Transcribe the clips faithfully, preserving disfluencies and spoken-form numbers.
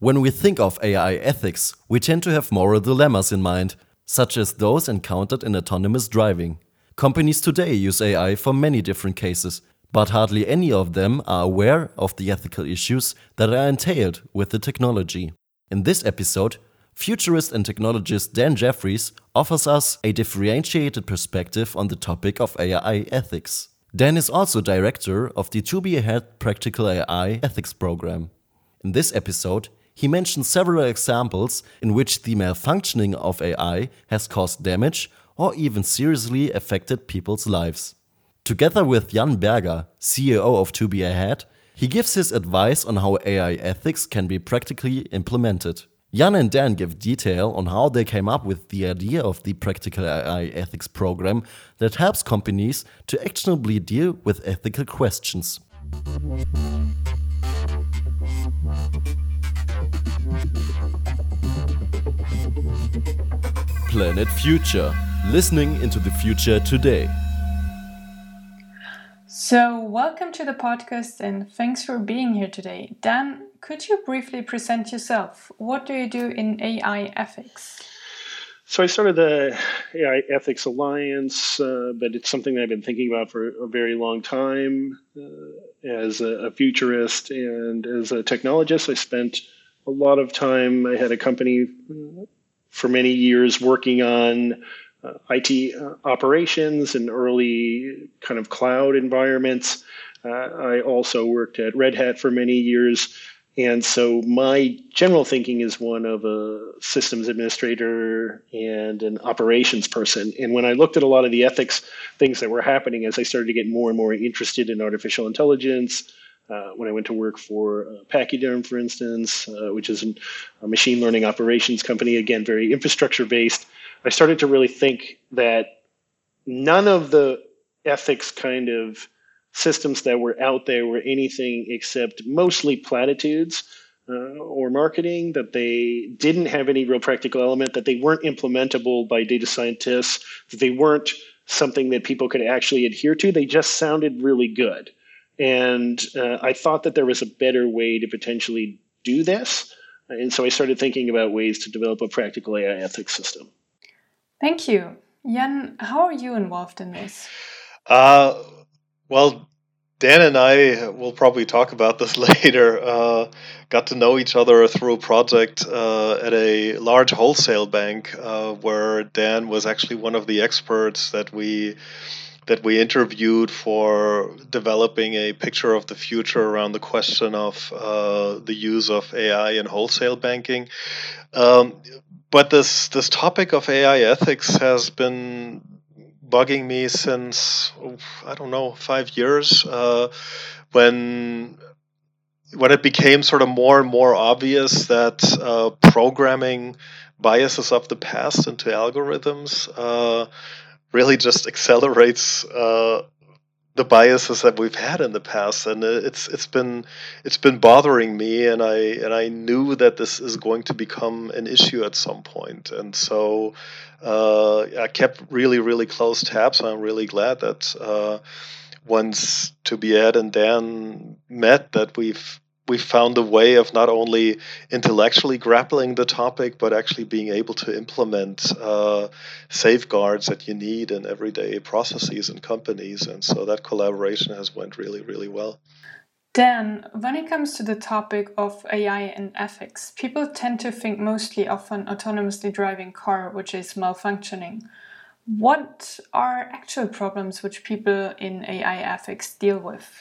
When we think of A I ethics, we tend to have moral dilemmas in mind, such as those encountered in autonomous driving. Companies today use A I for many different cases, but hardly any of them are aware of the ethical issues that are entailed with the technology. In this episode, futurist and technologist Dan Jeffries offers us a differentiated perspective on the topic of A I ethics. Dan is also director of the To Be Ahead Practical A I Ethics program. In this episode, he mentions several examples in which the malfunctioning of A I has caused damage or even seriously affected people's lives. Together with Jan Berger, C E O of To Be Ahead, he gives his advice on how A I ethics can be practically implemented. Jan and Dan give detail on how they came up with the idea of the Practical A I Ethics program that helps companies to actionably deal with ethical questions. Planet Future. Listening into the future today. So, welcome to the podcast and thanks for being here today. Dan, could you briefly present yourself? What do you do in A I ethics? So I started the A I Ethics Alliance, uh, but it's something that I've been thinking about for a very long time. Uh, as a, a futurist and as a technologist, I spent a lot of time. I had a company for many years working on uh, I T uh, operations and early kind of cloud environments. Uh, I also worked at Red Hat for many years. And so my general thinking is one of a systems administrator and an operations person. And when I looked at a lot of the ethics things that were happening as I started to get more and more interested in artificial intelligence, uh, when I went to work for uh, Pachyderm, for instance, uh, which is an, a machine learning operations company, again, very infrastructure based, I started to really think that none of the ethics kind of systems that were out there were anything except mostly platitudes uh, or marketing, that they didn't have any real practical element, that they weren't implementable by data scientists, that they weren't something that people could actually adhere to. They just sounded really good. And uh, I thought that there was a better way to potentially do this. And so I started thinking about ways to develop a practical A I ethics system. Thank you. Jan, how are you involved in this? Uh, well, Dan and I will probably talk about this later. Uh, got to know each other through a project uh, at a large wholesale bank uh, where Dan was actually one of the experts that we that we interviewed for developing a picture of the future around the question of uh, the use of A I in wholesale banking. Um, but this this topic of A I ethics has been bugging me since, I don't know, five years, uh, when when it became sort of more and more obvious that uh, programming biases of the past into algorithms uh, really just accelerates uh, the biases that we've had in the past, and it's it's been it's been bothering me, and I and I knew that this is going to become an issue at some point, and so uh, I kept really really close tabs. I'm really glad that uh, once To Be Ahead and Dan met, that we've we found a way of not only intellectually grappling the topic, but actually being able to implement uh, safeguards that you need in everyday processes and companies. And so that collaboration has went really, really well. Dan, when it comes to the topic of A I and ethics, people tend to think mostly of an autonomously driving car which is malfunctioning. What are actual problems which people in A I ethics deal with?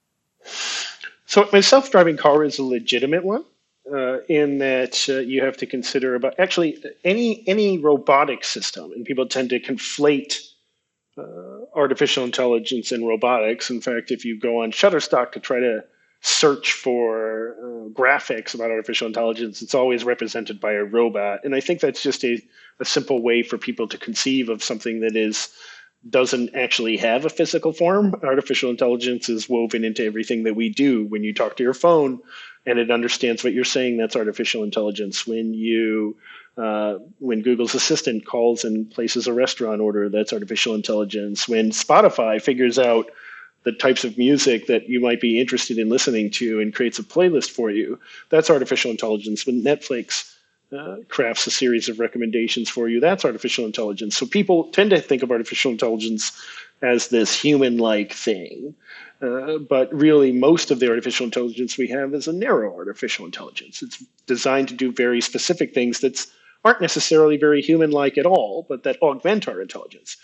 So a self-driving car is a legitimate one uh, in that uh, you have to consider about actually any any robotic system, and people tend to conflate uh, artificial intelligence and robotics. In fact, if you go on Shutterstock to try to search for uh, graphics about artificial intelligence, it's always represented by a robot. And I think that's just a, a simple way for people to conceive of something that is doesn't actually have a physical form. Artificial intelligence is woven into everything that we do. When you talk to your phone and it understands what you're saying, that's artificial intelligence. When you, uh, when Google's Assistant calls and places a restaurant order, that's artificial intelligence. When Spotify figures out the types of music that you might be interested in listening to and creates a playlist for you. That's artificial intelligence. When Netflix uh, crafts a series of recommendations for you, that's artificial intelligence. So people tend to think of artificial intelligence as this human-like thing. Uh, but really, most of the artificial intelligence we have is a narrow artificial intelligence. It's designed to do very specific things that aren't necessarily very human-like at all, but that augment our intelligence.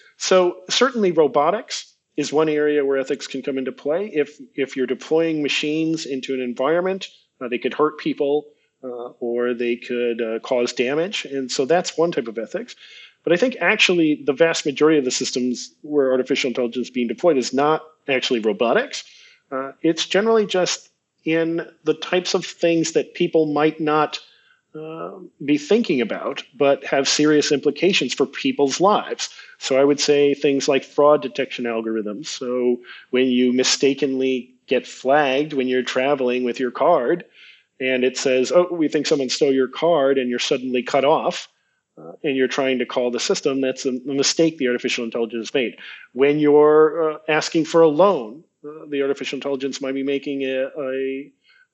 So certainly robotics is one area where ethics can come into play. If if you're deploying machines into an environment, uh, they could hurt people uh, or they could uh, cause damage. And so that's one type of ethics. But I think actually the vast majority of the systems where artificial intelligence is being deployed is not actually robotics. Uh, it's generally just in the types of things that people might not uh, be thinking about, but have serious implications for people's lives. So I would say things like fraud detection algorithms. So when you mistakenly get flagged when you're traveling with your card, and it says, oh, we think someone stole your card, and you're suddenly cut off, uh, and you're trying to call the system, that's a, a mistake the artificial intelligence made. When you're uh, asking for a loan, uh, the artificial intelligence might be making a, a,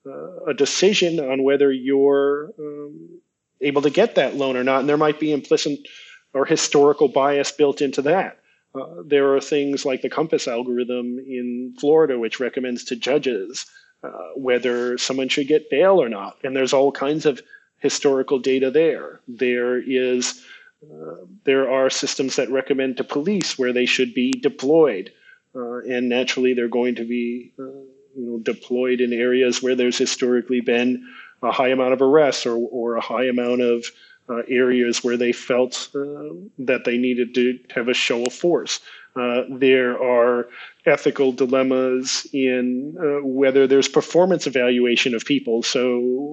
a decision on whether you're um, able to get that loan or not, and there might be implicit or historical bias built into that. Uh, there are things like the Compass algorithm in Florida, which recommends to judges uh, whether someone should get bail or not. And there's all kinds of historical data there. There is, uh, there are systems that recommend to police where they should be deployed. Uh, and naturally, they're going to be uh, you know, deployed in areas where there's historically been a high amount of arrests or, or a high amount of Uh, areas where they felt uh, that they needed to have a show of force. Uh, there are ethical dilemmas in uh, whether there's performance evaluation of people. So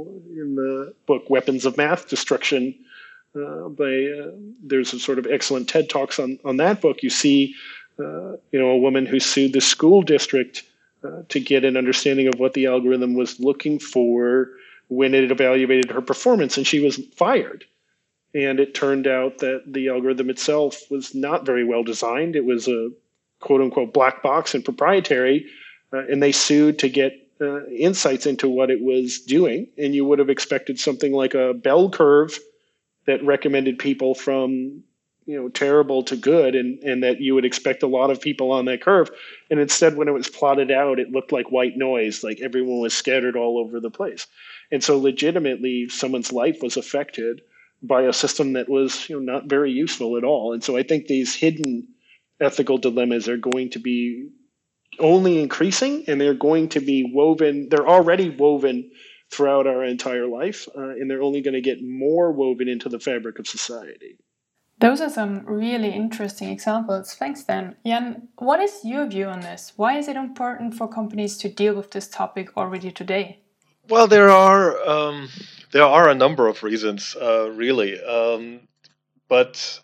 in the book Weapons of Math Destruction, uh, by, uh, there's a sort of excellent TED Talks on, on that book. You see uh, you know, a woman who sued the school district uh, to get an understanding of what the algorithm was looking for when it evaluated her performance, and she was fired. And it turned out that the algorithm itself was not very well designed. It was a quote unquote black box and proprietary, uh, and they sued to get uh, insights into what it was doing. And you would have expected something like a bell curve that recommended people from, you know, terrible to good, and, and that you would expect a lot of people on that curve. And instead, when it was plotted out, it looked like white noise, like everyone was scattered all over the place. And so legitimately, someone's life was affected by a system that was, you know, not very useful at all. And so I think these hidden ethical dilemmas are going to be only increasing, and they're going to be woven. They're already woven throughout our entire life, uh, and they're only going to get more woven into the fabric of society. Those are some really interesting examples. Thanks, Dan. Jan, what is your view on this? Why is it important for companies to deal with this topic already today? Well, there are um, there are a number of reasons, uh, really. Um, but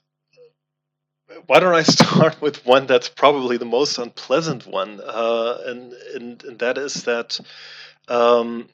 why don't I start with one that's probably the most unpleasant one, uh, and, and and that is that um,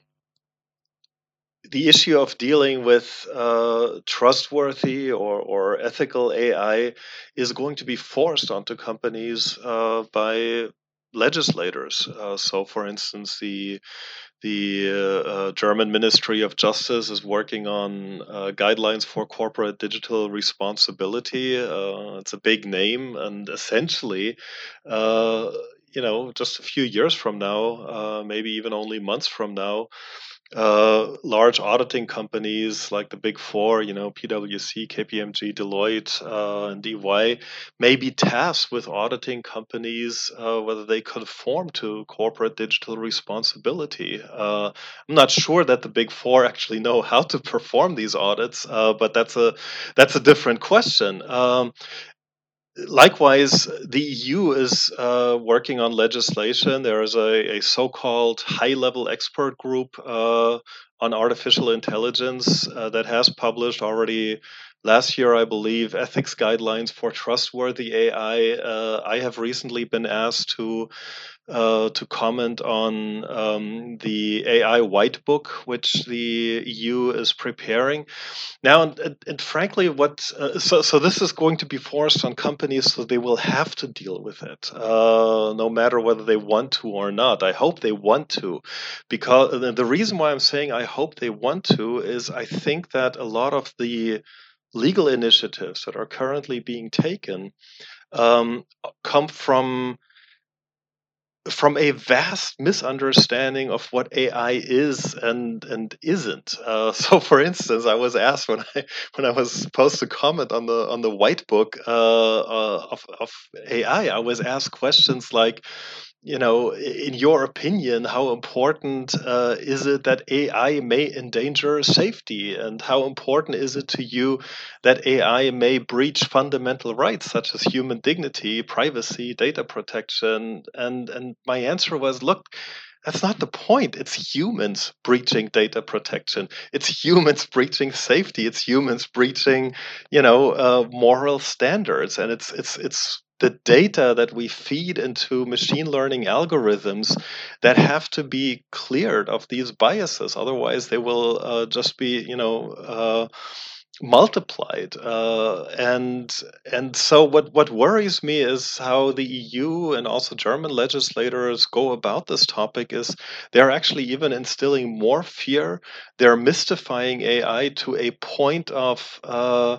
the issue of dealing with uh, trustworthy or, or ethical A I is going to be forced onto companies uh, by legislators. Uh, so, for instance, the The uh, uh, German Ministry of Justice is working on uh, guidelines for corporate digital responsibility. Uh, it's a big name, and essentially, uh, you know, just a few years from now, uh, maybe even only months from now, uh, large auditing companies like the Big Four, you know, PwC, K P M G, Deloitte, uh, and E Y, may be tasked with auditing companies uh, whether they conform to corporate digital responsibility. Uh, I'm not sure that the Big Four actually know how to perform these audits, uh, but that's a that's a different question. Um, Likewise, the E U is uh, working on legislation. There is a, a so-called high-level expert group uh, on artificial intelligence uh, that has published already last year, I believe, ethics guidelines for trustworthy A I. Uh, I have recently been asked to uh, to comment on um, the A I White Book, which the E U is preparing. Now, and, and frankly, what uh, so so this is going to be forced on companies, so they will have to deal with it, uh, no matter whether they want to or not. I hope they want to, because the reason why I'm saying I hope they want to is I think that a lot of the legal initiatives that are currently being taken um, come from from a vast misunderstanding of what A I is and and isn't. Uh, so, for instance, I was asked when I when I was supposed to comment on the on the white book uh, uh, of of A I, I was asked questions like, you know, in your opinion, how important uh, is it that A I may endanger safety? And how important is it to you that A I may breach fundamental rights such as human dignity, privacy, data protection? And, and my answer was, look, that's not the point. It's humans breaching data protection. It's humans breaching safety. It's humans breaching, you know, uh, moral standards. And it's it's it's the data that we feed into machine learning algorithms that have to be cleared of these biases. Otherwise, they will uh, just be, you know, uh, multiplied. Uh, and and so what, what worries me is how the E U and also German legislators go about this topic is they're actually even instilling more fear. They're mystifying A I to a point of, uh,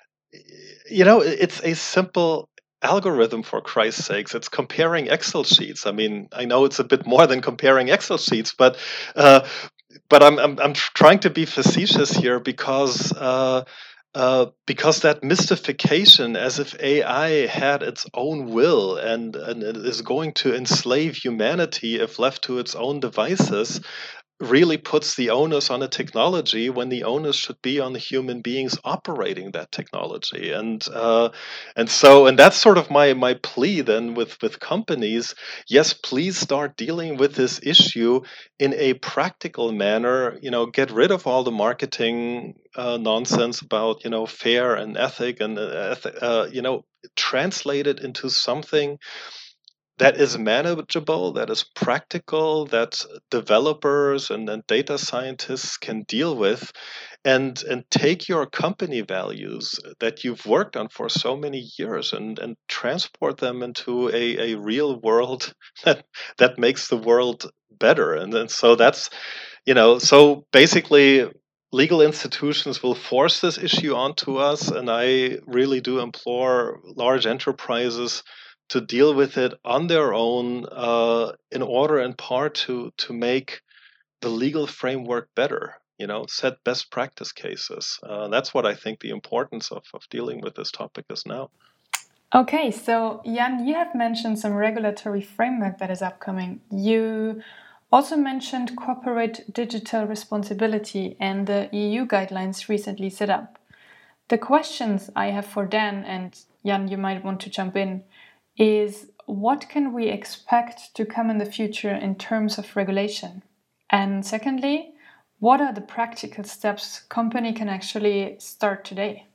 you know, it's a simple algorithm, for Christ's sakes. It's comparing Excel sheets. I mean, I know it's a bit more than comparing Excel sheets, but uh, but I'm, I'm I'm trying to be facetious here because uh, uh, because that mystification, as if A I had its own will and and it is going to enslave humanity if left to its own devices, really puts the onus on a technology when the onus should be on the human beings operating that technology. And uh, and so and that's sort of my my plea then with with companies. Yes, please start dealing with this issue in a practical manner. You know, get rid of all the marketing uh, nonsense about, you know, fair and ethic and uh, eth- uh, you know, translate it into something that is manageable, that is practical, that developers and, and data scientists can deal with, and and take your company values that you've worked on for so many years and, and transport them into a, a real world that that makes the world better. And then so that's, you know, so basically legal institutions will force this issue onto us, and I really do implore large enterprises to deal with it on their own, uh, in order in part to to make the legal framework better. You know, set best practice cases. Uh, that's what I think the importance of, of dealing with this topic is now. Okay, so Jan, you have mentioned some regulatory framework that is upcoming. You also mentioned corporate digital responsibility and the E U guidelines recently set up. The questions I have for Dan, and Jan, you might want to jump in, is what can we expect to come in the future in terms of regulation? And secondly, what are the practical steps company can actually start today?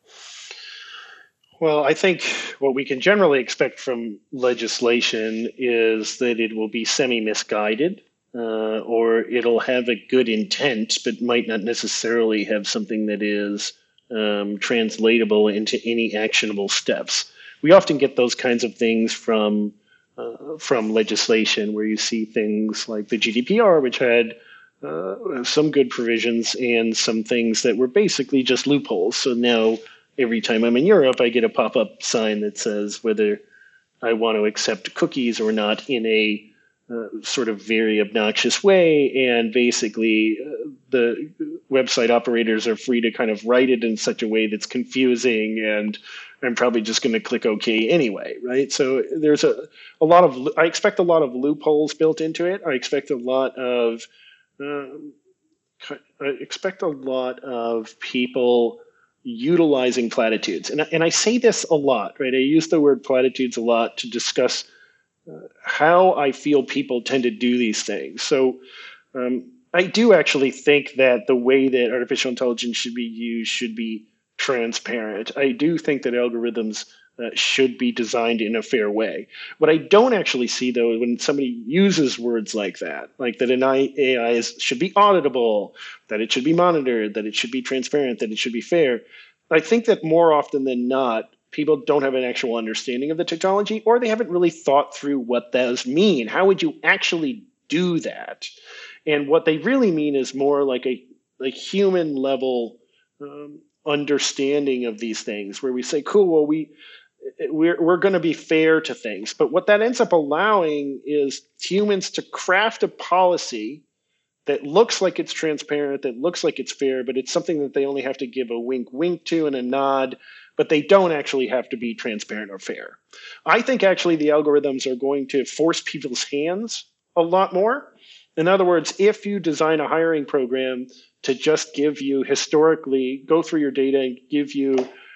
Well, I think what we can generally expect from legislation is that it will be semi-misguided, uh, or it'll have a good intent, but might not necessarily have something that is um, translatable into any actionable steps. We often get those kinds of things from uh, from legislation, where you see things like the G D P R, which had uh, some good provisions and some things that were basically just loopholes. So now, every time I'm in Europe, I get a pop-up sign that says whether I want to accept cookies or not in a uh, sort of very obnoxious way. And basically, uh, the website operators are free to kind of write it in such a way that's confusing, and I'm probably just going to click OK anyway, right? So there's a, a lot of, I expect a lot of loopholes built into it. I expect a lot of, um, I expect a lot of people utilizing platitudes. And, and I say this a lot, right? I use the word platitudes a lot to discuss uh, how I feel people tend to do these things. So um, I do actually think that the way that artificial intelligence should be used should be transparent. I do think that algorithms uh, should be designed in a fair way. What I don't actually see, though, when somebody uses words like that, like that an A I is, should be auditable, that it should be monitored, that it should be transparent, that it should be fair, I think that more often than not, people don't have an actual understanding of the technology, or they haven't really thought through what those mean. How would you actually do that? And what they really mean is more like a like human level um, understanding of these things, where we say, cool, well, we we're we're going to be fair to things. But what that ends up allowing is humans to craft a policy that looks like it's transparent, that looks like it's fair, but it's something that they only have to give a wink wink to and a nod, but they don't actually have to be transparent or fair. I think actually the algorithms are going to force people's hands a lot more. In other words, if you design a hiring program to just give you historically, go through your data and give you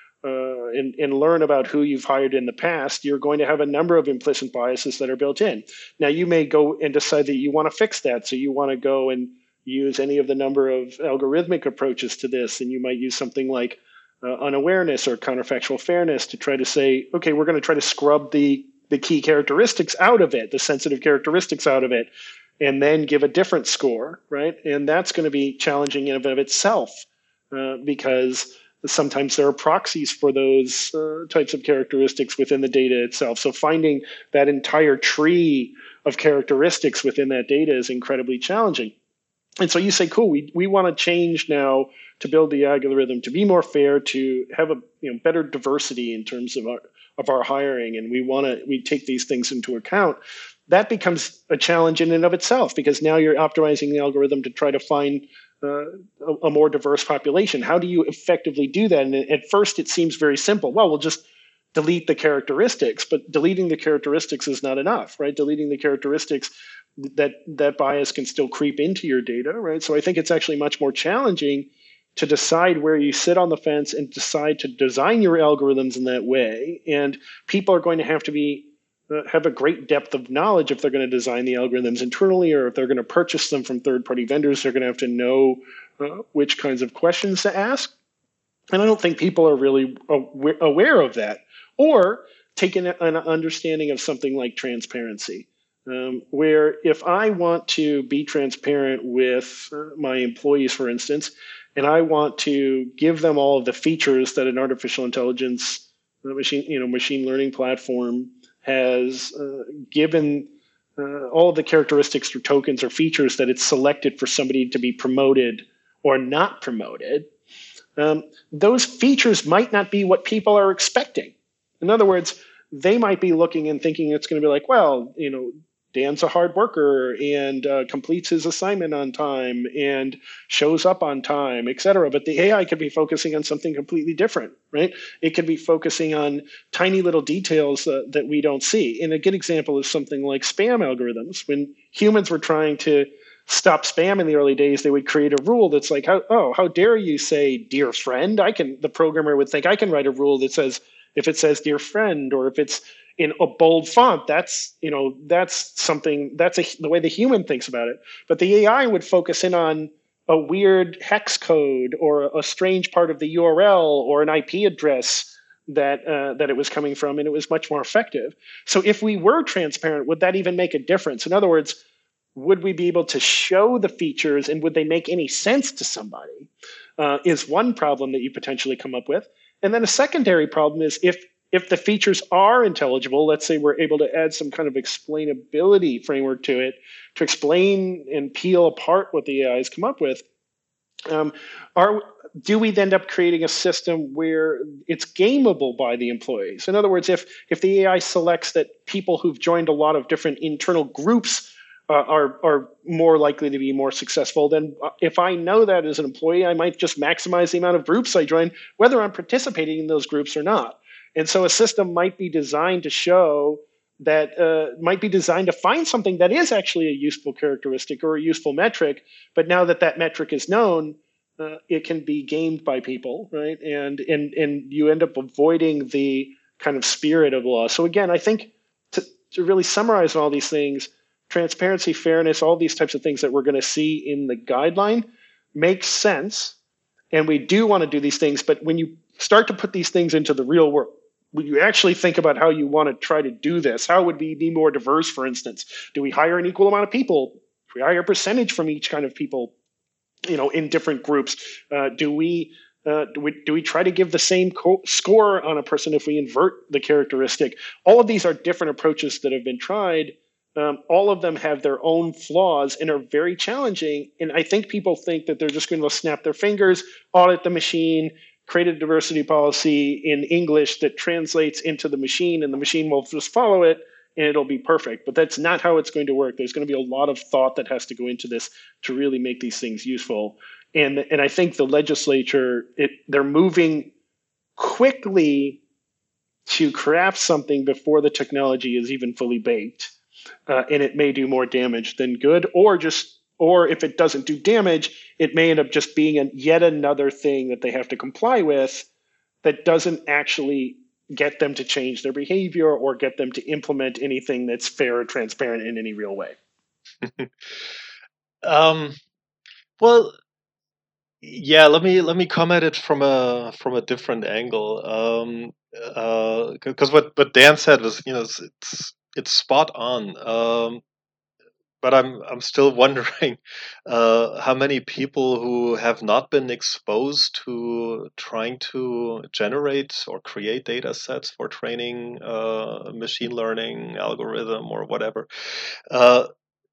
uh, and, and learn about who you've hired in the past, you're going to have a number of implicit biases that are built in. Now, you may go and decide that you want to fix that. So you want to go and use any of the number of algorithmic approaches to this. And you might use something like uh, unawareness or counterfactual fairness to try to say, okay, we're going to try to scrub the, the key characteristics out of it, the sensitive characteristics out of it, and then give a different score, right? And that's going to be challenging in and of itself uh, because sometimes there are proxies for those uh, types of characteristics within the data itself. So finding that entire tree of characteristics within that data is incredibly challenging. And so you say, cool, we, we want to change now to build the algorithm to be more fair, to have a you know better diversity in terms of our of our hiring, and we want to we take these things into account. That becomes a challenge in and of itself, because now you're optimizing the algorithm to try to find uh, a, a more diverse population. How do you effectively do that? And at first, it seems very simple. Well, we'll just delete the characteristics, but deleting the characteristics is not enough, right? Deleting the characteristics, that that bias can still creep into your data, right? So I think it's actually much more challenging to decide where you sit on the fence and decide to design your algorithms in that way. And people are going to have to be uh, have a great depth of knowledge if they're going to design the algorithms internally, or if they're going to purchase them from third-party vendors. They're going to have to know uh, which kinds of questions to ask. And I don't think people are really aw- aware of that, or taking an understanding of something like transparency. Um, where if I want to be transparent with uh, my employees, for instance, and I want to give them all of the features that an artificial intelligence uh, machine, you know, machine learning platform has uh, given uh, all of the characteristics or tokens or features that it's selected for somebody to be promoted or not promoted, um, those features might not be what people are expecting. In other words, they might be looking and thinking it's going to be like, well, you know, Dan's a hard worker and uh, completes his assignment on time and shows up on time, et cetera. But the A I could be focusing on something completely different, right? It could be focusing on tiny little details uh, that we don't see. And a good example is something like spam algorithms. When humans were trying to stop spam in the early days, they would create a rule that's like, how, oh, how dare you say, dear friend? I can. The programmer would think, I can write a rule that says, if it says dear friend, or if it's in a bold font, that's, you know, that's something, that's a, the way the human thinks about it. But the A I would focus in on a weird hex code or a, a strange part of the U R L or an I P address that uh, that it was coming from, and it was much more effective. So if we were transparent, would that even make a difference? In other words, would we be able to show the features, and would they make any sense to somebody? Uh, is one problem that you potentially come up with. And then a secondary problem is if if the features are intelligible, let's say we're able to add some kind of explainability framework to it to explain and peel apart what the A I has come up with, um, are do we end up creating a system where it's gameable by the employees? In other words, if if the A I selects that people who've joined a lot of different internal groups Uh, are are more likely to be more successful, then if I know that as an employee, I might just maximize the amount of groups I join, whether I'm participating in those groups or not. And so a system might be designed to show that, uh, might be designed to find something that is actually a useful characteristic or a useful metric, but now that that metric is known, uh, it can be gamed by people, right? And, and, and you end up avoiding the kind of spirit of the law. So again, I think to, to really summarize all these things, transparency, fairness, all these types of things that we're going to see in the guideline makes sense. And we do want to do these things. But when you start to put these things into the real world, when you actually think about how you want to try to do this, how would we be more diverse, for instance? Do we hire an equal amount of people? Do we hire a percentage from each kind of people, you know, in different groups? Uh, do we uh, do we do we try to give the same co- score on a person if we invert the characteristic? All of these are different approaches that have been tried. Um, all of them have their own flaws and are very challenging. And I think people think that they're just going to snap their fingers, audit the machine, create a diversity policy in English that translates into the machine, and the machine will just follow it and it'll be perfect. But that's not how it's going to work. There's going to be a lot of thought that has to go into this to really make these things useful. And, and I think the legislature, it, they're moving quickly to craft something before the technology is even fully baked. Uh, and it may do more damage than good, or just, or if it doesn't do damage, it may end up just being a, yet another thing that they have to comply with that doesn't actually get them to change their behavior or get them to implement anything that's fair or transparent in any real way. um, well, yeah. Let me let me come at it from a from a different angle. Um, because uh, what what Dan said was, you know, it's it's, it's spot on. Um, but I'm I'm still wondering uh, how many people who have not been exposed to trying to generate or create data sets for training uh, machine learning algorithm or whatever. Uh,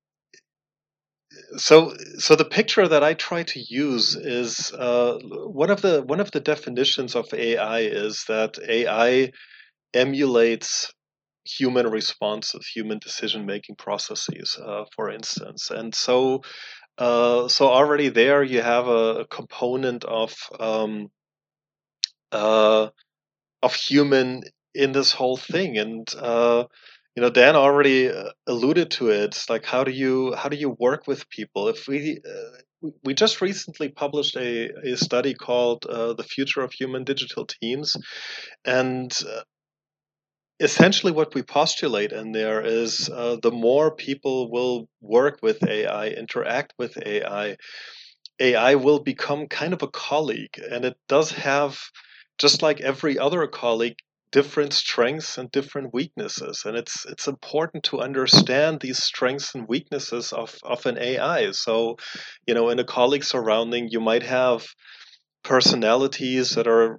so so the picture that I try to use is uh, one of the one of the definitions of A I is that A I emulates human responses, human decision-making processes, uh, for instance. And so, uh, so already there you have a, a component of um, uh, of human in this whole thing. And uh, you know, Dan already alluded to it. It's like, how do you how do you work with people? If we uh, we just recently published a, a study called uh, "The Future of Human Digital Teams," and uh, essentially what we postulate in there is uh, the more people will work with A I, interact with A I, A I will become kind of a colleague. And it does have, just like every other colleague, different strengths and different weaknesses. And it's it's important to understand these strengths and weaknesses of, of an A I. So, you know, in a colleague surrounding, you might have personalities that are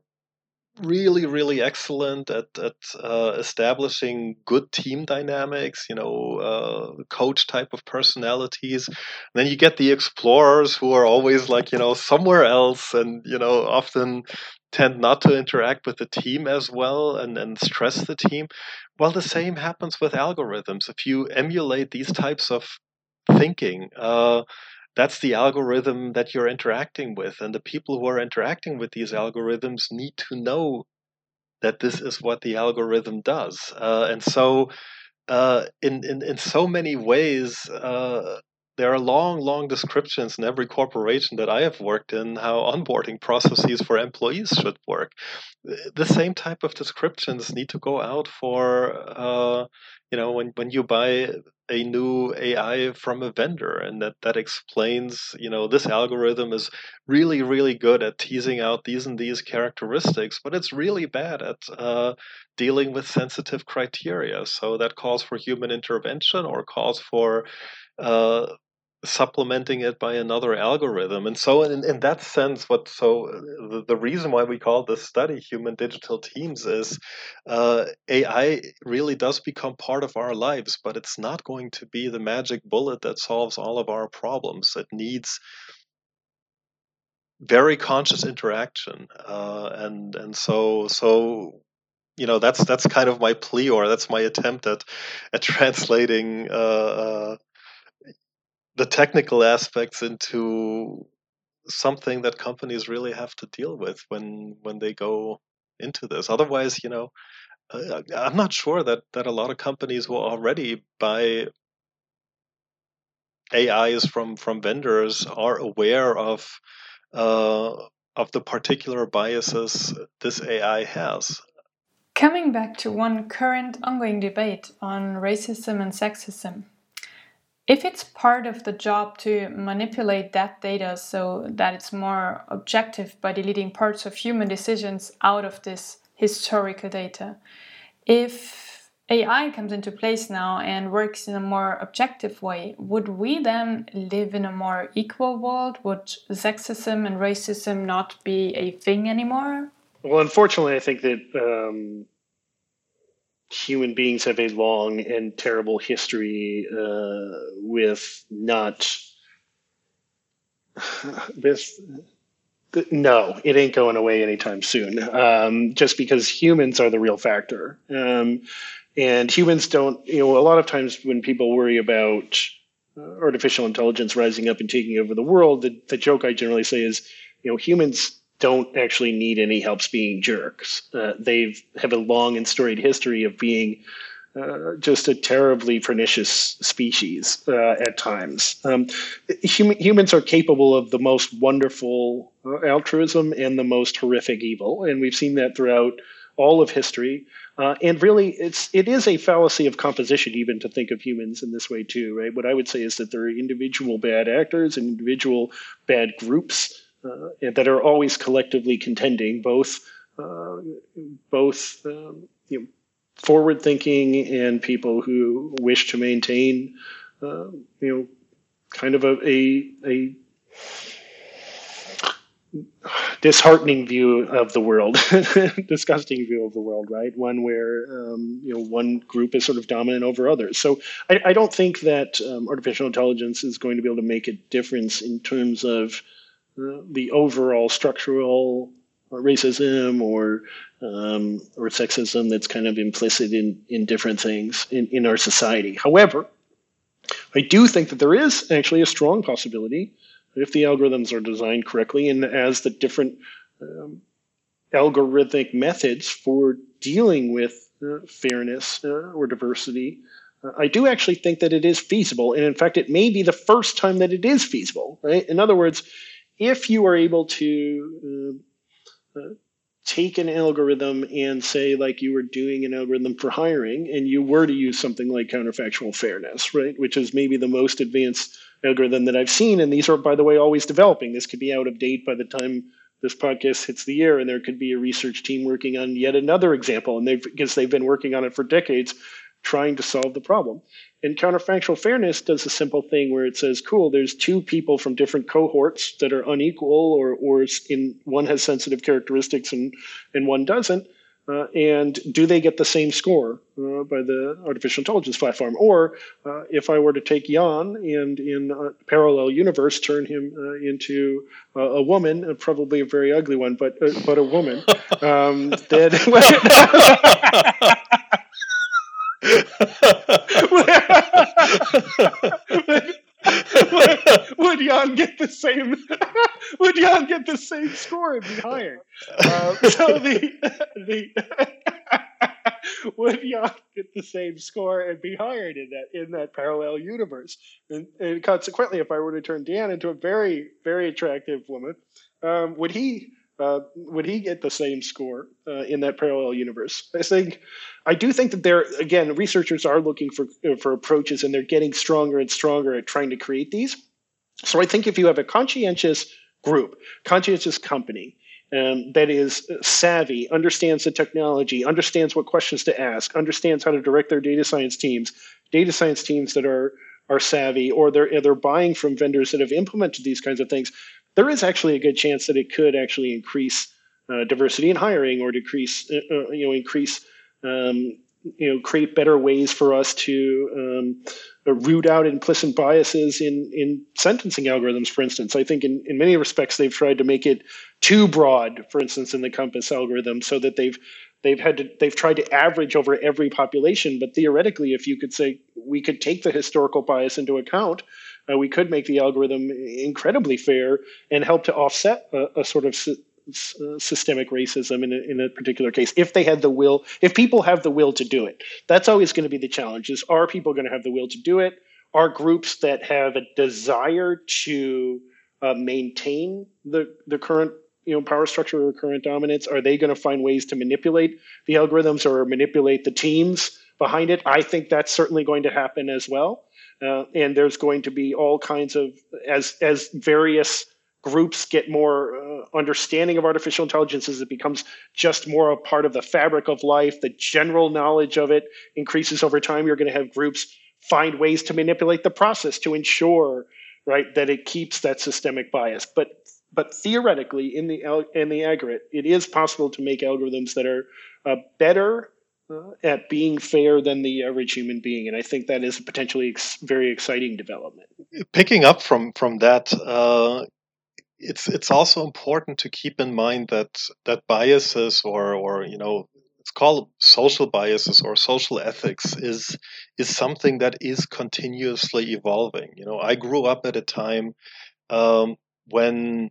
really really excellent at, at uh, establishing good team dynamics, you know, uh, coach type of personalities. And then you get the explorers who are always like, you know, somewhere else, and you know, often tend not to interact with the team as well, and, and stress the team. Well, the same happens with algorithms. If you emulate these types of thinking, uh, that's the algorithm that you're interacting with. And the people who are interacting with these algorithms need to know that this is what the algorithm does. Uh, and so uh, in, in, in so many ways, uh, there are long, long descriptions in every corporation that I have worked in how onboarding processes for employees should work. The same type of descriptions need to go out for, uh, you know, when, when you buy a new A I from a vendor, and that, that explains, you know, this algorithm is really, really good at teasing out these and these characteristics, but it's really bad at uh, dealing with sensitive criteria. So that calls for human intervention or calls for uh, supplementing it by another algorithm. And so in, in that sense, what so the, the reason why we call this study Human Digital Teams is uh, A I really does become part of our lives, but it's not going to be the magic bullet that solves all of our problems. It needs very conscious interaction, uh, and and so so you know, that's that's kind of my plea, or that's my attempt at at translating uh, uh, the technical aspects into something that companies really have to deal with when when they go into this. Otherwise, you know, uh, I'm not sure that that a lot of companies will already buy A Is from from vendors are aware of uh, of the particular biases this A I has. Coming back to one current ongoing debate on racism and sexism, If it's part of the job to manipulate that data so that it's more objective by deleting parts of human decisions out of this historical data, if A I comes into place now and works in a more objective way, would we then live in a more equal world? Would sexism and racism not be a thing anymore? Well, unfortunately, I think that um, human beings have a long and terrible history uh, with not with no, it ain't going away anytime soon. Um, just because humans are the real factor, um, and humans don't. You know, a lot of times when people worry about uh, artificial intelligence rising up and taking over the world, the, the joke I generally say is, you know, humans don't actually need any help being jerks. Uh, they've have a long and storied history of being uh, just a terribly pernicious species uh, at times. Um, hum- humans are capable of the most wonderful uh, altruism and the most horrific evil, and we've seen that throughout all of history. Uh, and really, it's it is a fallacy of composition even to think of humans in this way too, right? What I would say is that there are individual bad actors and individual bad groups uh, that are always collectively contending, both uh, both um, you know, forward-thinking and people who wish to maintain, uh, you know, kind of a, a a disheartening view of the world, disgusting view of the world, right? One where um, you know one group is sort of dominant over others. So I, I don't think that um, artificial intelligence is going to be able to make a difference in terms of uh, the overall structural racism or um, or sexism that's kind of implicit in in different things in, in our society. However, I do think that there is actually a strong possibility if the algorithms are designed correctly and as the different um, algorithmic methods for dealing with uh, fairness uh, or diversity, uh, I do actually think that it is feasible. And in fact, it may be the first time that it is feasible, right? In other words, if you are able to uh, uh, take an algorithm and say, like you were doing an algorithm for hiring, and you were to use something like counterfactual fairness, right, which is maybe the most advanced algorithm that I've seen. And these are, by the way, always developing. This could be out of date by the time this podcast hits the air, and there could be a research team working on yet another example. And they've, because they've been working on it for decades, trying to solve the problem. And counterfactual fairness does a simple thing where it says, cool, there's two people from different cohorts that are unequal, or or in one has sensitive characteristics and, and one doesn't. Uh, and do they get the same score uh, by the artificial intelligence platform? Or uh, if I were to take Jan and in a parallel universe turn him uh, into uh, a woman, uh, probably a very ugly one, but uh, but a woman, um, then would, would Jan get the same? Would Jan get the same score and be hired? Uh, so the the would Jan get the same score and be hired in that in that parallel universe? And, and consequently, if I were to turn Dan into a very very attractive woman, um, would he? Uh, would he get the same score uh, in that parallel universe? I think, I do think that there, again, researchers are looking for uh, for approaches, and they're getting stronger and stronger at trying to create these. So I think if you have a conscientious group, conscientious company um, that is savvy, understands the technology, understands what questions to ask, understands how to direct their data science teams, data science teams that are are savvy, or they're they're buying from vendors that have implemented these kinds of things, there is actually a good chance that it could actually increase uh, diversity in hiring, or decrease, uh, you know, increase, um, you know, create better ways for us to um, root out implicit biases in in sentencing algorithms. For instance, I think in, in many respects they've tried to make it too broad. For instance, in the Compass algorithm, so that they've they've had to they've tried to average over every population. But theoretically, if you could say we could take the historical bias into account, Uh, we could make the algorithm incredibly fair and help to offset a, a sort of sy- uh, systemic racism in a, in a particular case, if they had the will, if people have the will to do it. That's always going to be the challenge, is are people going to have the will to do it? Are groups that have a desire to uh, maintain the, the current you know, power structure or current dominance, are they going to find ways to manipulate the algorithms or manipulate the teams behind it? I think that's certainly going to happen as well. Uh, and there's going to be all kinds of, as as various groups get more uh, understanding of artificial intelligence, as it becomes just more a part of the fabric of life, the general knowledge of it increases over time. You're going to have groups find ways to manipulate the process to ensure, right, that it keeps that systemic bias. But but theoretically, in the in the aggregate, it is possible to make algorithms that are uh, better uh, at being fair than the average human being, and I think that is a potentially ex- very exciting development. Picking up from from that. Uh... It's it's also important to keep in mind that that biases or or you know it's called social biases or social ethics is is something that is continuously evolving. You know, I grew up at a time um, when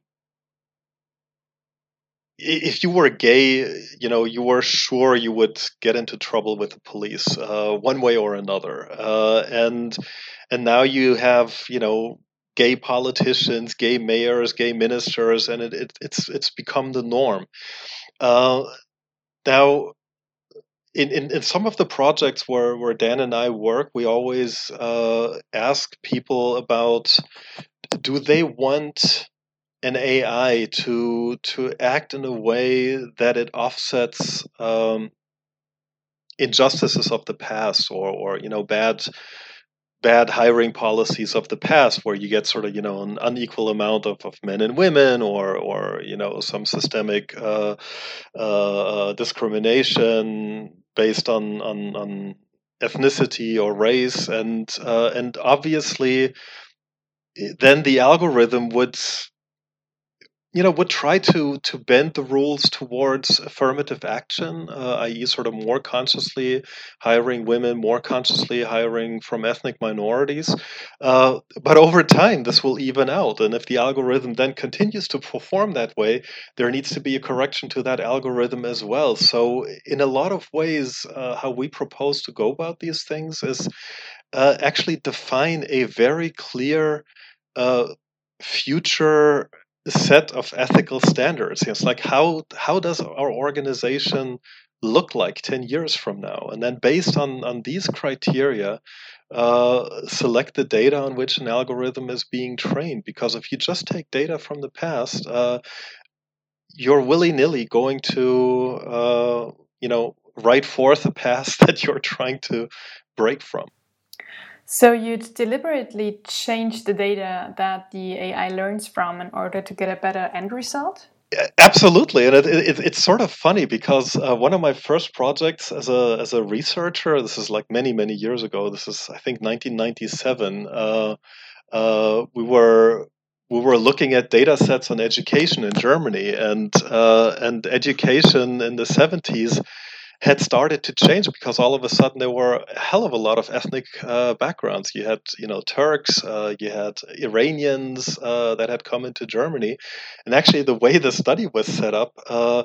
if you were gay, you know, you were sure you would get into trouble with the police uh, one way or another, uh, and and now you have you know. gay politicians, gay mayors, gay ministers, and it, it, it's it's become the norm. Uh, now, in, in, in some of the projects where, where Dan and I work, we always uh, ask people about, do they want an A I to to act in a way that it offsets um, injustices of the past or or you know bad bad hiring policies of the past where you get sort of you know an unequal amount of, of men and women or or you know some systemic uh, uh, discrimination based on, on on ethnicity or race and uh, and obviously then the algorithm would you know would try to to bend the rules towards affirmative action, uh, that is sort of more consciously hiring women, more consciously hiring from ethnic minorities. Uh, but over time, this will even out. And if the algorithm then continues to perform that way, there needs to be a correction to that algorithm as well. So in a lot of ways, uh, how we propose to go about these things is uh, actually define a very clear uh, future set of ethical standards. It's like how how does our organization look like ten years from now, and then based on on these criteria uh, select the data on which an algorithm is being trained. Because if you just take data from the past, uh, you're willy-nilly going to uh, you know write forth a past that you're trying to break from. So you'd deliberately change the data that the A I learns from in order to get a better end result? Absolutely, and it, it, it's sort of funny because uh, one of my first projects as a as a researcher, this is like many many years ago. This is I think nineteen ninety-seven. Uh, uh, we were we were looking at data sets on education in Germany, and uh, and education in the seventies had started to change because all of a sudden there were a hell of a lot of ethnic uh, backgrounds. You had, you know, Turks, uh, you had Iranians uh, that had come into Germany, and actually the way the study was set up, uh,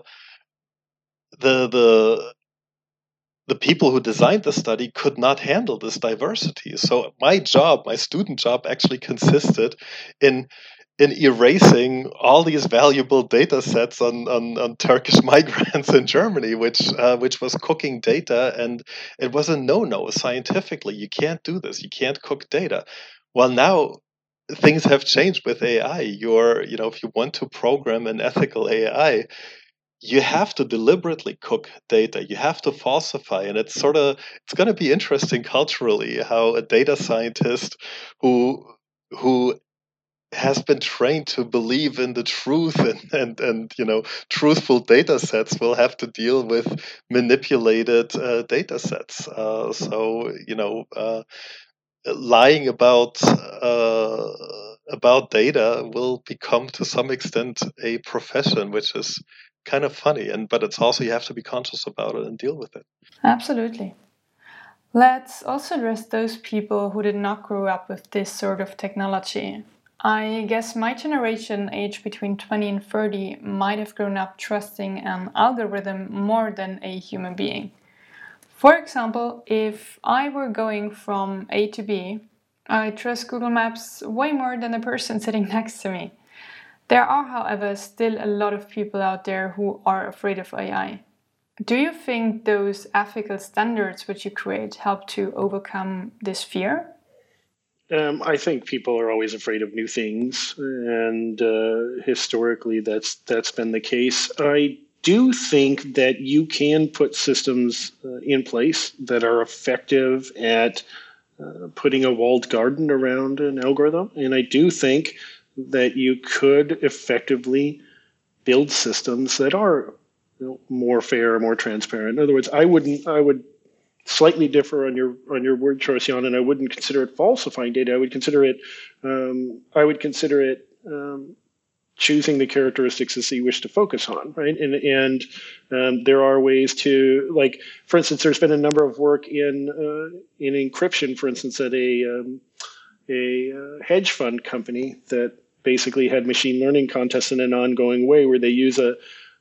the the the people who designed the study could not handle this diversity. So my job, my student job, actually consisted in in erasing all these valuable data sets on, on, on Turkish migrants in Germany, which uh, which was cooking data, and it was a no-no scientifically. You can't do this. You can't cook data. Well, now things have changed with A I. You're, you know, if you want to program an ethical A I, you have to deliberately cook data. You have to falsify, and it's sort of it's going to be interesting culturally how a data scientist who who has been trained to believe in the truth and, and, and you know truthful data sets will have to deal with manipulated uh, data sets. Uh, so you know, uh, lying about uh, about data will become to some extent a profession, which is kind of funny. And but it's also you have to be conscious about it and deal with it. Absolutely. Let's also address those people who did not grow up with this sort of technology. I guess my generation, aged between twenty and thirty, might have grown up trusting an algorithm more than a human being. For example, if I were going from A to B, I trust Google Maps way more than the person sitting next to me. There are, however, still a lot of people out there who are afraid of A I. Do you think those ethical standards which you create help to overcome this fear? Um, I think people are always afraid of new things, and uh, historically, that's that's been the case. I do think that you can put systems uh, in place that are effective at uh, putting a walled garden around an algorithm, and I do think that you could effectively build systems that are, you know, more fair, more transparent. In other words, I wouldn't, I would slightly differ on your on your word choice, Jan, and I wouldn't consider it falsifying data. I would consider it, um, I would consider it um, choosing the characteristics that you wish to focus on, right? And and um, there are ways to, like, for instance, there's been a number of work in uh, in encryption, for instance, at a um, a uh, hedge fund company that basically had machine learning contests in an ongoing way, where they use a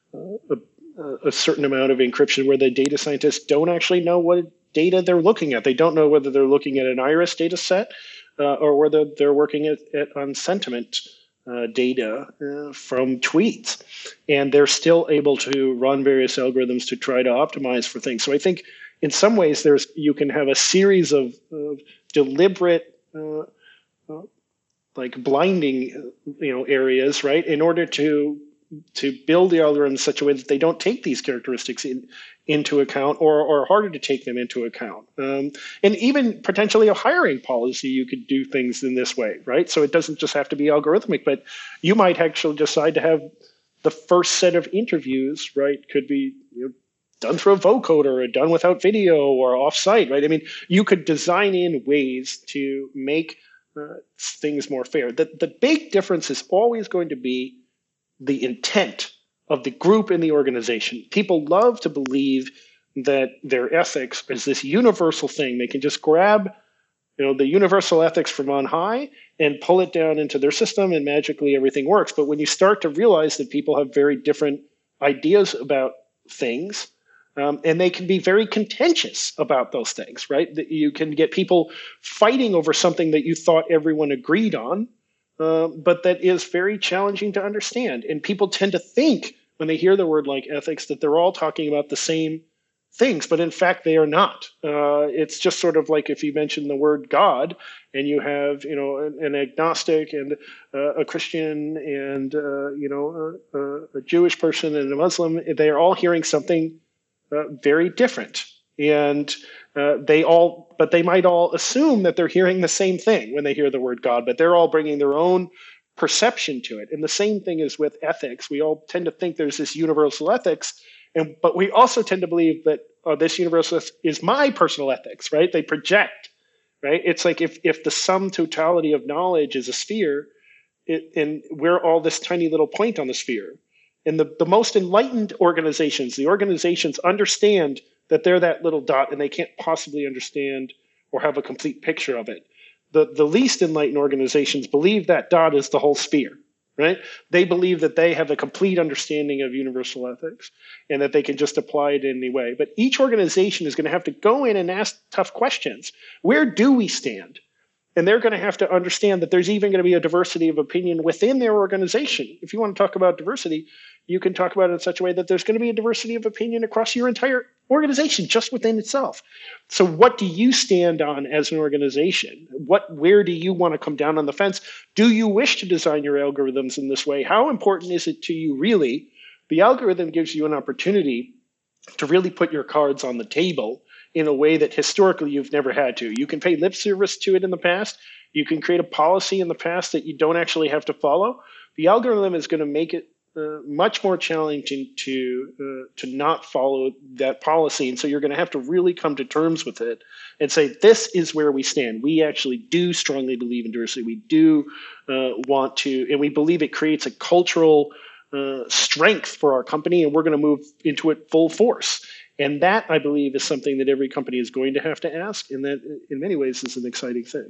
a, a certain amount of encryption where the data scientists don't actually know what data they're looking at. They don't know whether they're looking at an iris data set uh, or whether they're working at, at on sentiment uh, data uh, from tweets. And they're still able to run various algorithms to try to optimize for things. So I think in some ways there's you can have a series of, of deliberate uh, uh, like blinding, you know, areas, right, in order to to build the algorithm in such a way that they don't take these characteristics in, into account, or or harder to take them into account. Um, and even potentially a hiring policy, you could do things in this way, right? So it doesn't just have to be algorithmic, but you might actually decide to have the first set of interviews, right, could be, you know, done through a vocoder or done without video or offsite, right? I mean, you could design in ways to make uh, things more fair. The, the big difference is always going to be the intent of the group in the organization. People love to believe that their ethics is this universal thing. They can just grab, you know, the universal ethics from on high and pull it down into their system, and magically everything works. But when you start to realize that people have very different ideas about things, um, and they can be very contentious about those things, right? That you can get people fighting over something that you thought everyone agreed on, Uh, but that is very challenging to understand. And people tend to think when they hear the word like ethics that they're all talking about the same things, but in fact they are not. Uh, it's just sort of like if you mention the word God and you have, you know, an, an agnostic and uh, a Christian and, uh, you know, a, a Jewish person and a Muslim, they are all hearing something uh, very different. And uh, they all, but they might all assume that they're hearing the same thing when they hear the word God, but they're all bringing their own perception to it. And the same thing is with ethics. We all tend to think there's this universal ethics, and but we also tend to believe that oh, this universal is my personal ethics, right? They project, right? It's like if if the sum totality of knowledge is a sphere, it, and we're all this tiny little point on the sphere. And the, the most enlightened organizations, the organizations understand that they're that little dot and they can't possibly understand or have a complete picture of it. The, the least enlightened organizations believe that dot is the whole sphere, right? They believe that they have a complete understanding of universal ethics and that they can just apply it in any way. But each organization is going to have to go in and ask tough questions. Where do we stand? And they're going to have to understand that there's even going to be a diversity of opinion within their organization. If you want to talk about diversity, you can talk about it in such a way that there's going to be a diversity of opinion across your entire organization just within itself. So what do you stand on as an organization? What, where do you want to come down on the fence? Do you wish to design your algorithms in this way? How important is it to you really? The algorithm gives you an opportunity to really put your cards on the table in a way that historically you've never had to. You can pay lip service to it in the past. You can create a policy in the past that you don't actually have to follow. The algorithm is going to make it uh, much more challenging to uh, to not follow that policy. And so you're going to have to really come to terms with it and say, this is where we stand. We actually do strongly believe in diversity. We do uh, want to, and we believe it creates a cultural uh, strength for our company, and we're going to move into it full force. And that, I believe, is something that every company is going to have to ask, and that in many ways is an exciting thing.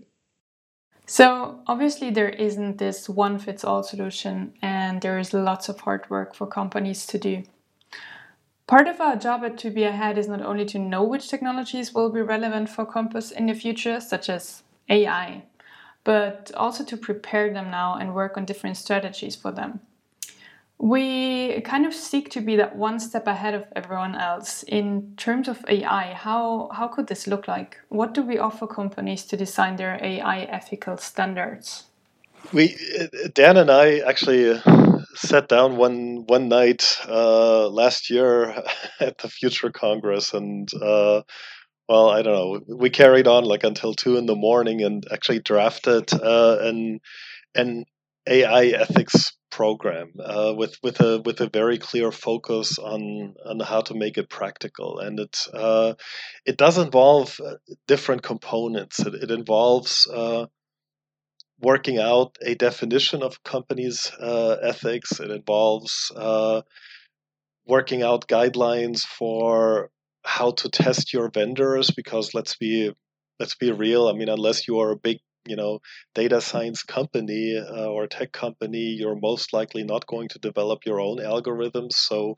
So obviously there isn't this one-fits-all solution, and there is lots of hard work for companies to do. Part of our job at To Be Ahead is not only to know which technologies will be relevant for Compass in the future, such as A I, but also to prepare them now and work on different strategies for them. We kind of seek to be that one step ahead of everyone else. In terms of A I, how, how could this look like? What do we offer companies to design their A I ethical standards? We, Dan and I actually sat down one one night uh, last year at the Future Congress, and uh, well, I don't know, we carried on like until two in the morning and actually drafted uh, an an A I ethics program uh, with with a with a very clear focus on on how to make it practical, and it uh, it does involve different components. It, it involves uh, working out a definition of companies' uh, ethics. It involves uh, working out guidelines for how to test your vendors, because let's be let's be real. I mean, unless you are a big, you know, data science company uh, or tech company, you're most likely not going to develop your own algorithms. So,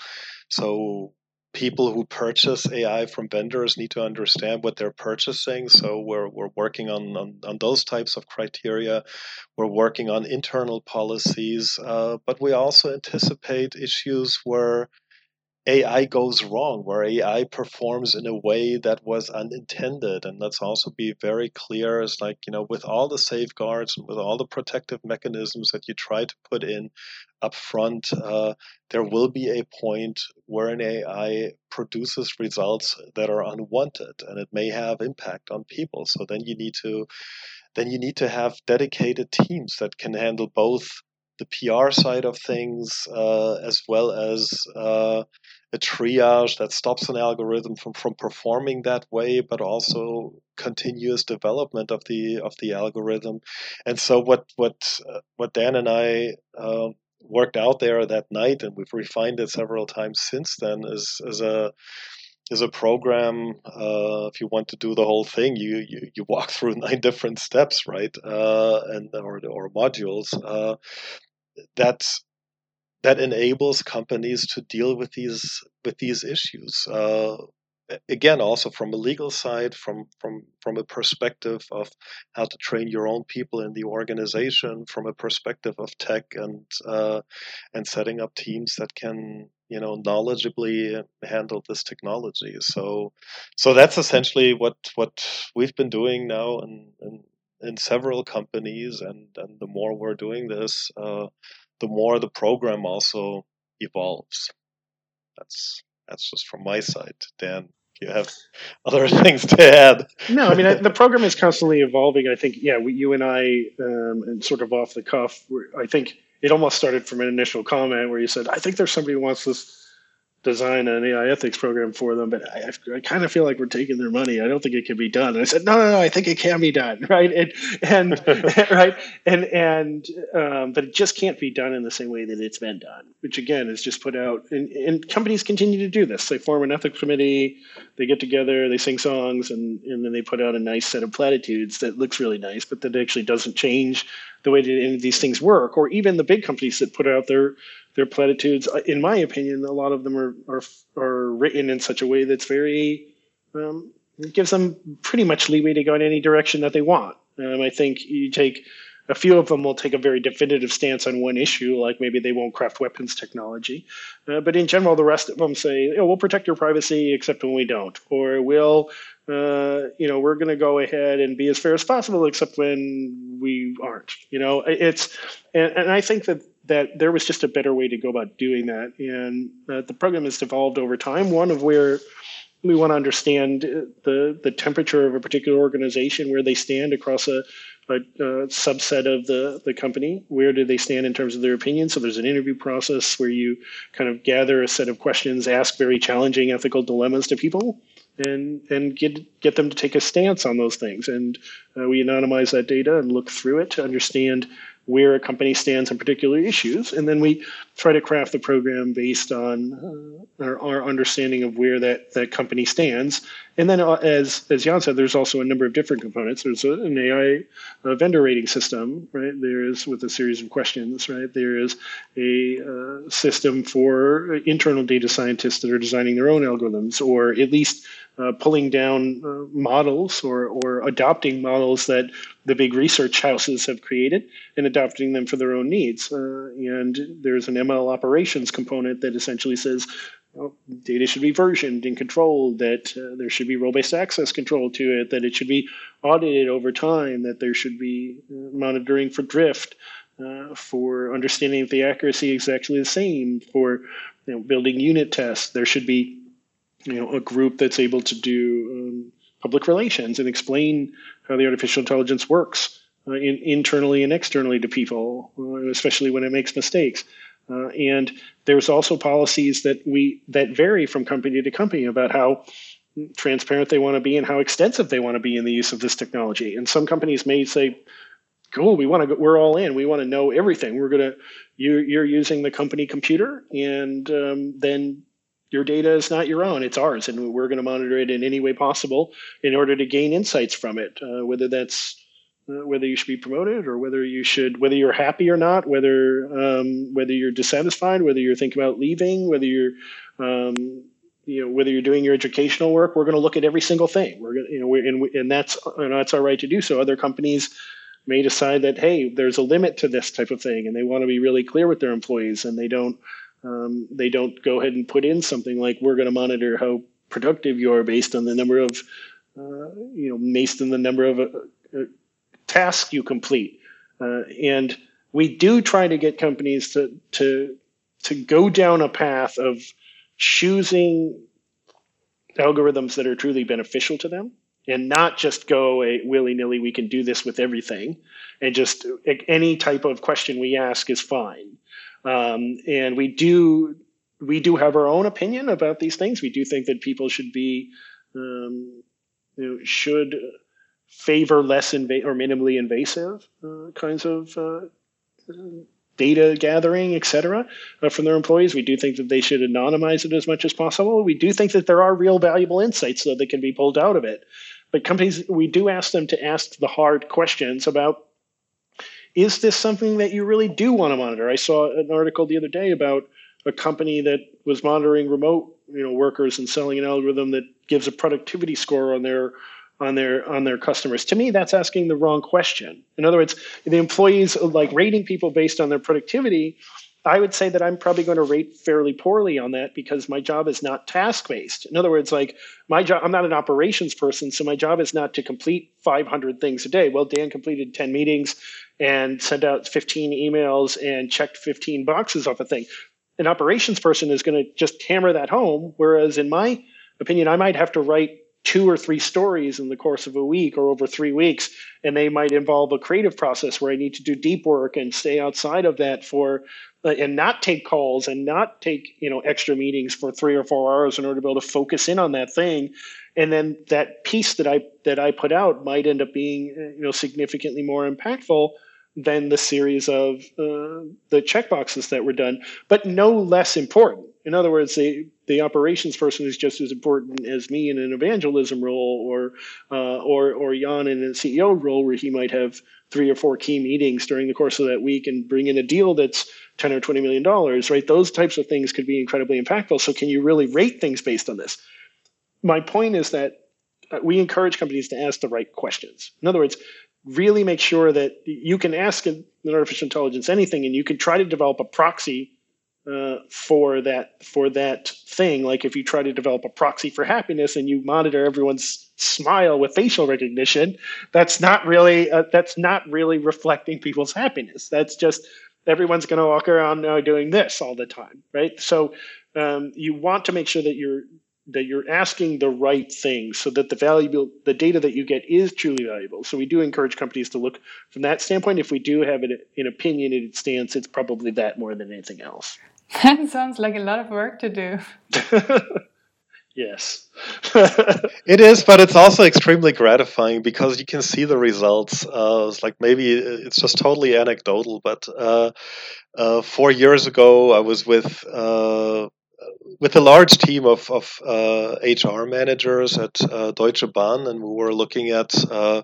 so people who purchase A I from vendors need to understand what they're purchasing. So we're we're working on on, on those types of criteria. We're working on internal policies, uh, but we also anticipate issues where A I goes wrong, where A I performs in a way that was unintended. And let's also be very clear, is like, you know, with all the safeguards and with all the protective mechanisms that you try to put in up front, uh, there will be a point where an A I produces results that are unwanted, and it may have impact on people. So then you need to then you need to have dedicated teams that can handle both the P R side of things, uh, as well as uh, a triage that stops an algorithm from, from performing that way, but also continuous development of the of the algorithm. And so what what uh, what Dan and I uh, worked out there that night, and we've refined it several times since then, is is a is a program. Uh, if you want to do the whole thing, you you, you walk through nine different steps, right? Uh, and or or modules. Uh, that that enables companies to deal with these with these issues. Uh, again, also from a legal side, from from from a perspective of how to train your own people in the organization, from a perspective of tech and uh, and setting up teams that can, you know, knowledgeably handle this technology. So so that's essentially what what we've been doing now in in, in several companies, and and the more we're doing this, uh, the more the program also evolves. That's that's just from my side. Dan, do you have other things to add? No, I mean, I, the program is constantly evolving. I think, yeah, we, you and I, um, and sort of off the cuff, I think it almost started from an initial comment where you said, I think there's somebody who wants this design an A I ethics program for them, but I, I kind of feel like we're taking their money. I don't think it can be done. And I said, no, no, no, I think it can be done, right? And and right, and and um, but it just can't be done in the same way that it's been done. Which again is just put out, and, and companies continue to do this. They form an ethics committee, they get together, they sing songs, and and then they put out a nice set of platitudes that looks really nice, but that actually doesn't change the way that any of these things work. Or even the big companies that put out their their platitudes, in my opinion, a lot of them are are, are written in such a way that's very, um, it gives them pretty much leeway to go in any direction that they want. Um, I think you take, a few of them will take a very definitive stance on one issue, like maybe they won't craft weapons technology. Uh, but in general, the rest of them say, oh, we'll protect your privacy except when we don't. Or we'll, uh, you know, we're going to go ahead and be as fair as possible except when we aren't. You know, it's, and, and I think that that there was just a better way to go about doing that. And uh, the program has evolved over time. One of where we want to understand the the temperature of a particular organization, where they stand across a, a, a subset of the, the company. Where do they stand in terms of their opinion? So there's an interview process where you kind of gather a set of questions, ask very challenging ethical dilemmas to people, and and get get them to take a stance on those things. And uh, we anonymize that data and look through it to understand where a company stands on particular issues, and then we try to craft the program based on uh, our, our understanding of where that, that company stands. And then, uh, as as Jan said, there's also a number of different components. There's a, an A I uh, vendor rating system, right? There is with a series of questions, right? There is a uh, system for internal data scientists that are designing their own algorithms, or at least uh, pulling down uh, models or or adopting models that the big research houses have created and adopting them for their own needs. Uh, and there's an M L operations component that essentially says, well, data should be versioned and controlled, that uh, there should be role-based access control to it, that it should be audited over time, that there should be uh, monitoring for drift, uh, for understanding if the accuracy is actually the same, for you know, building unit tests. There should be you know, a group that's able to do um, public relations and explain how the artificial intelligence works uh, in, internally and externally to people, uh, especially when it makes mistakes. Uh, and there's also policies that we that vary from company to company about how transparent they want to be and how extensive they want to be in the use of this technology. And some companies may say, "Cool, we want to. Go, we're all in. We want to know everything. We're gonna. You, you're using the company computer, and um, then your data is not your own; it's ours, and we're going to monitor it in any way possible in order to gain insights from it. Uh, whether that's Uh, whether you should be promoted or whether you should, whether you're happy or not, whether um, whether you're dissatisfied, whether you're thinking about leaving, whether you're, um, you know, whether you're doing your educational work. We're going to look at every single thing. We're going, you know, we, and we, and that's you know, that's our right to do so. Other companies may decide that hey, there's a limit to this type of thing, and they want to be really clear with their employees, and they don't um, they don't go ahead and put in something like we're going to monitor how productive you are based on the number of, uh, you know, based on the number of uh, uh, tasks you complete. Uh, and we do try to get companies to, to, to go down a path of choosing algorithms that are truly beneficial to them and not just go a willy-nilly, we can do this with everything, and just any type of question we ask is fine. Um, and we do we do have our own opinion about these things. We do think that people should be um, you know, should favor less inva- or minimally invasive uh, kinds of uh, data gathering, et cetera, uh, from their employees. We do think that they should anonymize it as much as possible. We do think that there are real valuable insights though, that can be pulled out of it. But companies, we do ask them to ask the hard questions about, is this something that you really do want to monitor? I saw an article the other day about a company that was monitoring remote you know, workers and selling an algorithm that gives a productivity score on their on their on their customers. To me, that's asking the wrong question. In other words, the employees like rating people based on their productivity, I would say that I'm probably going to rate fairly poorly on that because my job is not task-based. In other words, like my job, I'm not an operations person, so my job is not to complete five hundred things a day. Well, Dan completed ten meetings and sent out fifteen emails and checked fifteen boxes off a thing. An operations person is going to just hammer that home, whereas in my opinion, I might have to write two or three stories in the course of a week or over three weeks, and they might involve a creative process where I need to do deep work and stay outside of that for, uh, and not take calls and not take, you know, extra meetings for three or four hours in order to be able to focus in on that thing. And then that piece that I that I put out might end up being, you know, significantly more impactful than the series of uh, the checkboxes that were done, but no less important. In other words, the, the operations person is just as important as me in an evangelism role, or uh, or or Jan in a C E O role, where he might have three or four key meetings during the course of that week and bring in a deal that's ten or twenty million dollars. Right? Those types of things could be incredibly impactful. So, can you really rate things based on this? My point is that we encourage companies to ask the right questions. In other words, really make sure that you can ask an artificial intelligence anything, and you can try to develop a proxy uh, for that for that thing. Like if you try to develop a proxy for happiness and you monitor everyone's smile with facial recognition, that's not really uh, that's not really reflecting people's happiness. That's just everyone's going to walk around uh, doing this all the time, right? So um, you want to make sure that you're that you're asking the right things so that the valuable, the data that you get is truly valuable. So we do encourage companies to look from that standpoint. If we do have an, an opinionated stance, it's probably that more than anything else. That sounds like a lot of work to do. Yes. It is, but it's also extremely gratifying because you can see the results. Uh, it's like maybe it's just totally anecdotal, but uh, uh, four years ago I was with uh, with a large team of, of uh, H R managers at uh, Deutsche Bahn, and we were looking at uh,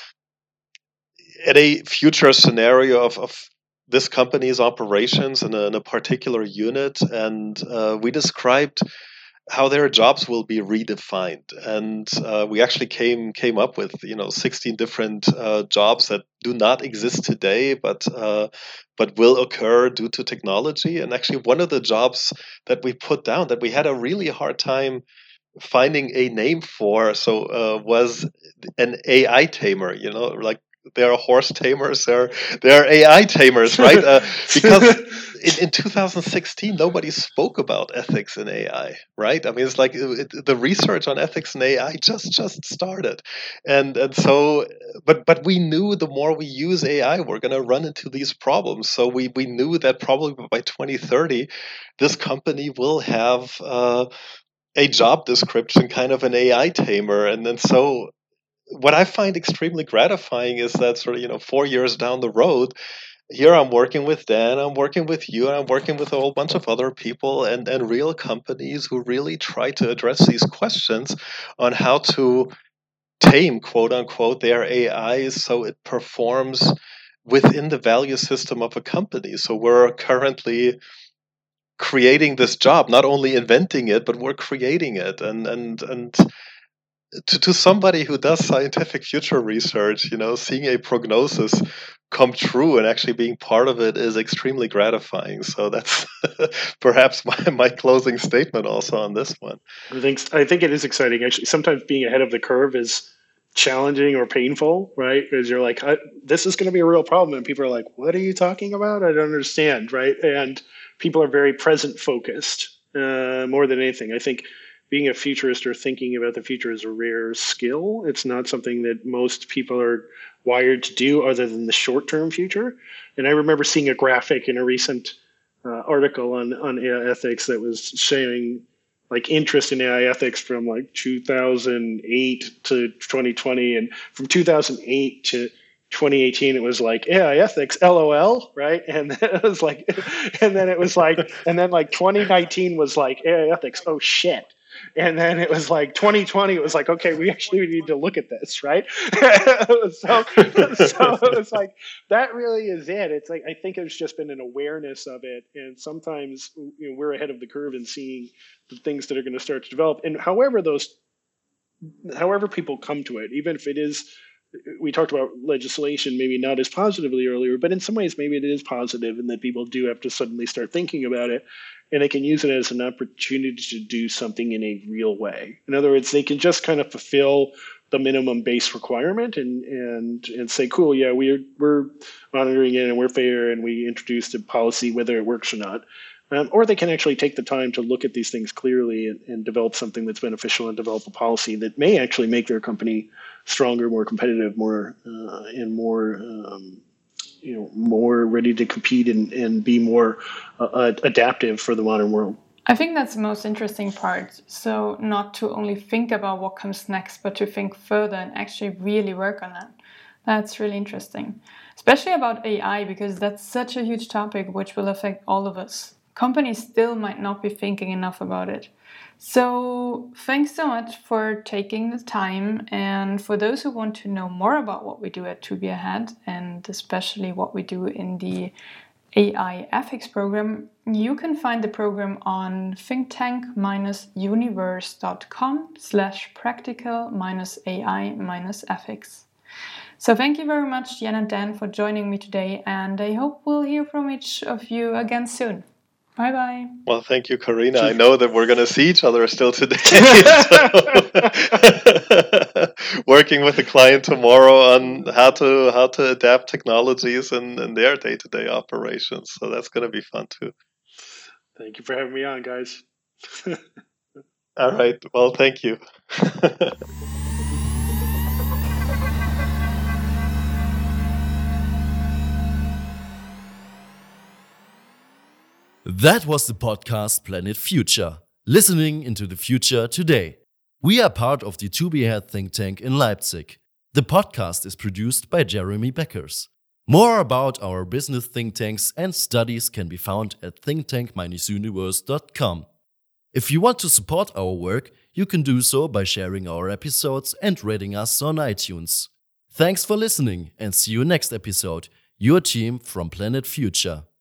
at a future scenario of, of this company's operations in a, in a particular unit, and uh, we described how their jobs will be redefined, and uh, we actually came came up with you know sixteen different uh, jobs that do not exist today, but uh, but will occur due to technology. And actually, one of the jobs that we put down that we had a really hard time finding a name for, so uh, was an A I tamer. You know, like there are horse tamers, there there are A I tamers, right? Uh, because in, in two thousand sixteen, nobody spoke about ethics in A I, right? I mean, it's like it, the research on ethics in A I just just started, and and so, but but we knew the more we use A I, we're going to run into these problems. So we we knew that probably by twenty thirty, this company will have uh, a job description, kind of an A I tamer, and then so. What I find extremely gratifying is that sort of, you know, four years down the road, here I'm working with Dan, I'm working with you, and I'm working with a whole bunch of other people and, and real companies who really try to address these questions on how to tame, quote unquote, their A Is so it performs within the value system of a company. So we're currently creating this job, not only inventing it, but we're creating it. And, and, and, To, to somebody who does scientific future research, you know, seeing a prognosis come true and actually being part of it is extremely gratifying. So that's perhaps my, my closing statement also on this one. I think I think it is exciting. Actually, sometimes being ahead of the curve is challenging or painful, right? Because you're like, I, this is going to be a real problem, and people are like, "What are you talking about? I don't understand," right? And people are very present focused uh, more than anything. I think. Being a futurist or thinking about the future is a rare skill. It's not something that most people are wired to do other than the short-term future. And I remember seeing a graphic in a recent uh, article on, on A I ethics that was showing like interest in A I ethics from like two thousand eight to twenty twenty. And from two thousand eight to twenty eighteen, it was like A I ethics, LOL, right? And then it was like, and then it was like, and then like twenty nineteen was like A I ethics, oh shit. And then it was like twenty twenty, it was like, okay, we actually need to look at this, right? so, so it was like, that really is it. It's like, I think it's just been an awareness of it. And sometimes you know, we're ahead of the curve in seeing the things that are going to start to develop. And however those, however people come to it, even if it is, we talked about legislation, maybe not as positively earlier, but in some ways, maybe it is positive and that people do have to suddenly start thinking about it. And they can use it as an opportunity to do something in a real way. In other words, they can just kind of fulfill the minimum base requirement and and and say, cool, yeah, we're we're monitoring it and we're fair and we introduced a policy whether it works or not. Um, or they can actually take the time to look at these things clearly and, and develop something that's beneficial and develop a policy that may actually make their company stronger, more competitive, more uh, and more um, you know, more ready to compete and, and be more uh, adaptive for the modern world. I think that's the most interesting part. So not to only think about what comes next, but to think further and actually really work on that. That's really interesting, especially about A I, because that's such a huge topic which will affect all of us. Companies still might not be thinking enough about it. So thanks so much for taking the time. And for those who want to know more about what we do at To Be Ahead, and especially what we do in the A I ethics program, you can find the program on thinktank-universe.com slash practical minus AI minus ethics. So thank you very much, Jan and Dan, for joining me today. And I hope we'll hear from each of you again soon. Bye-bye. Well, thank you, Karina. I know that we're going to see each other still today. Working with a client tomorrow on how to how to adapt technologies in, in their day-to-day operations. So that's going to be fun, too. Thank you for having me on, guys. All right. Well, thank you. That was the podcast Planet Future, listening into the future today. We are part of the To Be Ahead think tank in Leipzig. The podcast is produced by Jeremy Beckers. More about our business think tanks and studies can be found at think tank dash universe dot com. If you want to support our work, you can do so by sharing our episodes and rating us on iTunes. Thanks for listening and see you next episode. Your team from Planet Future.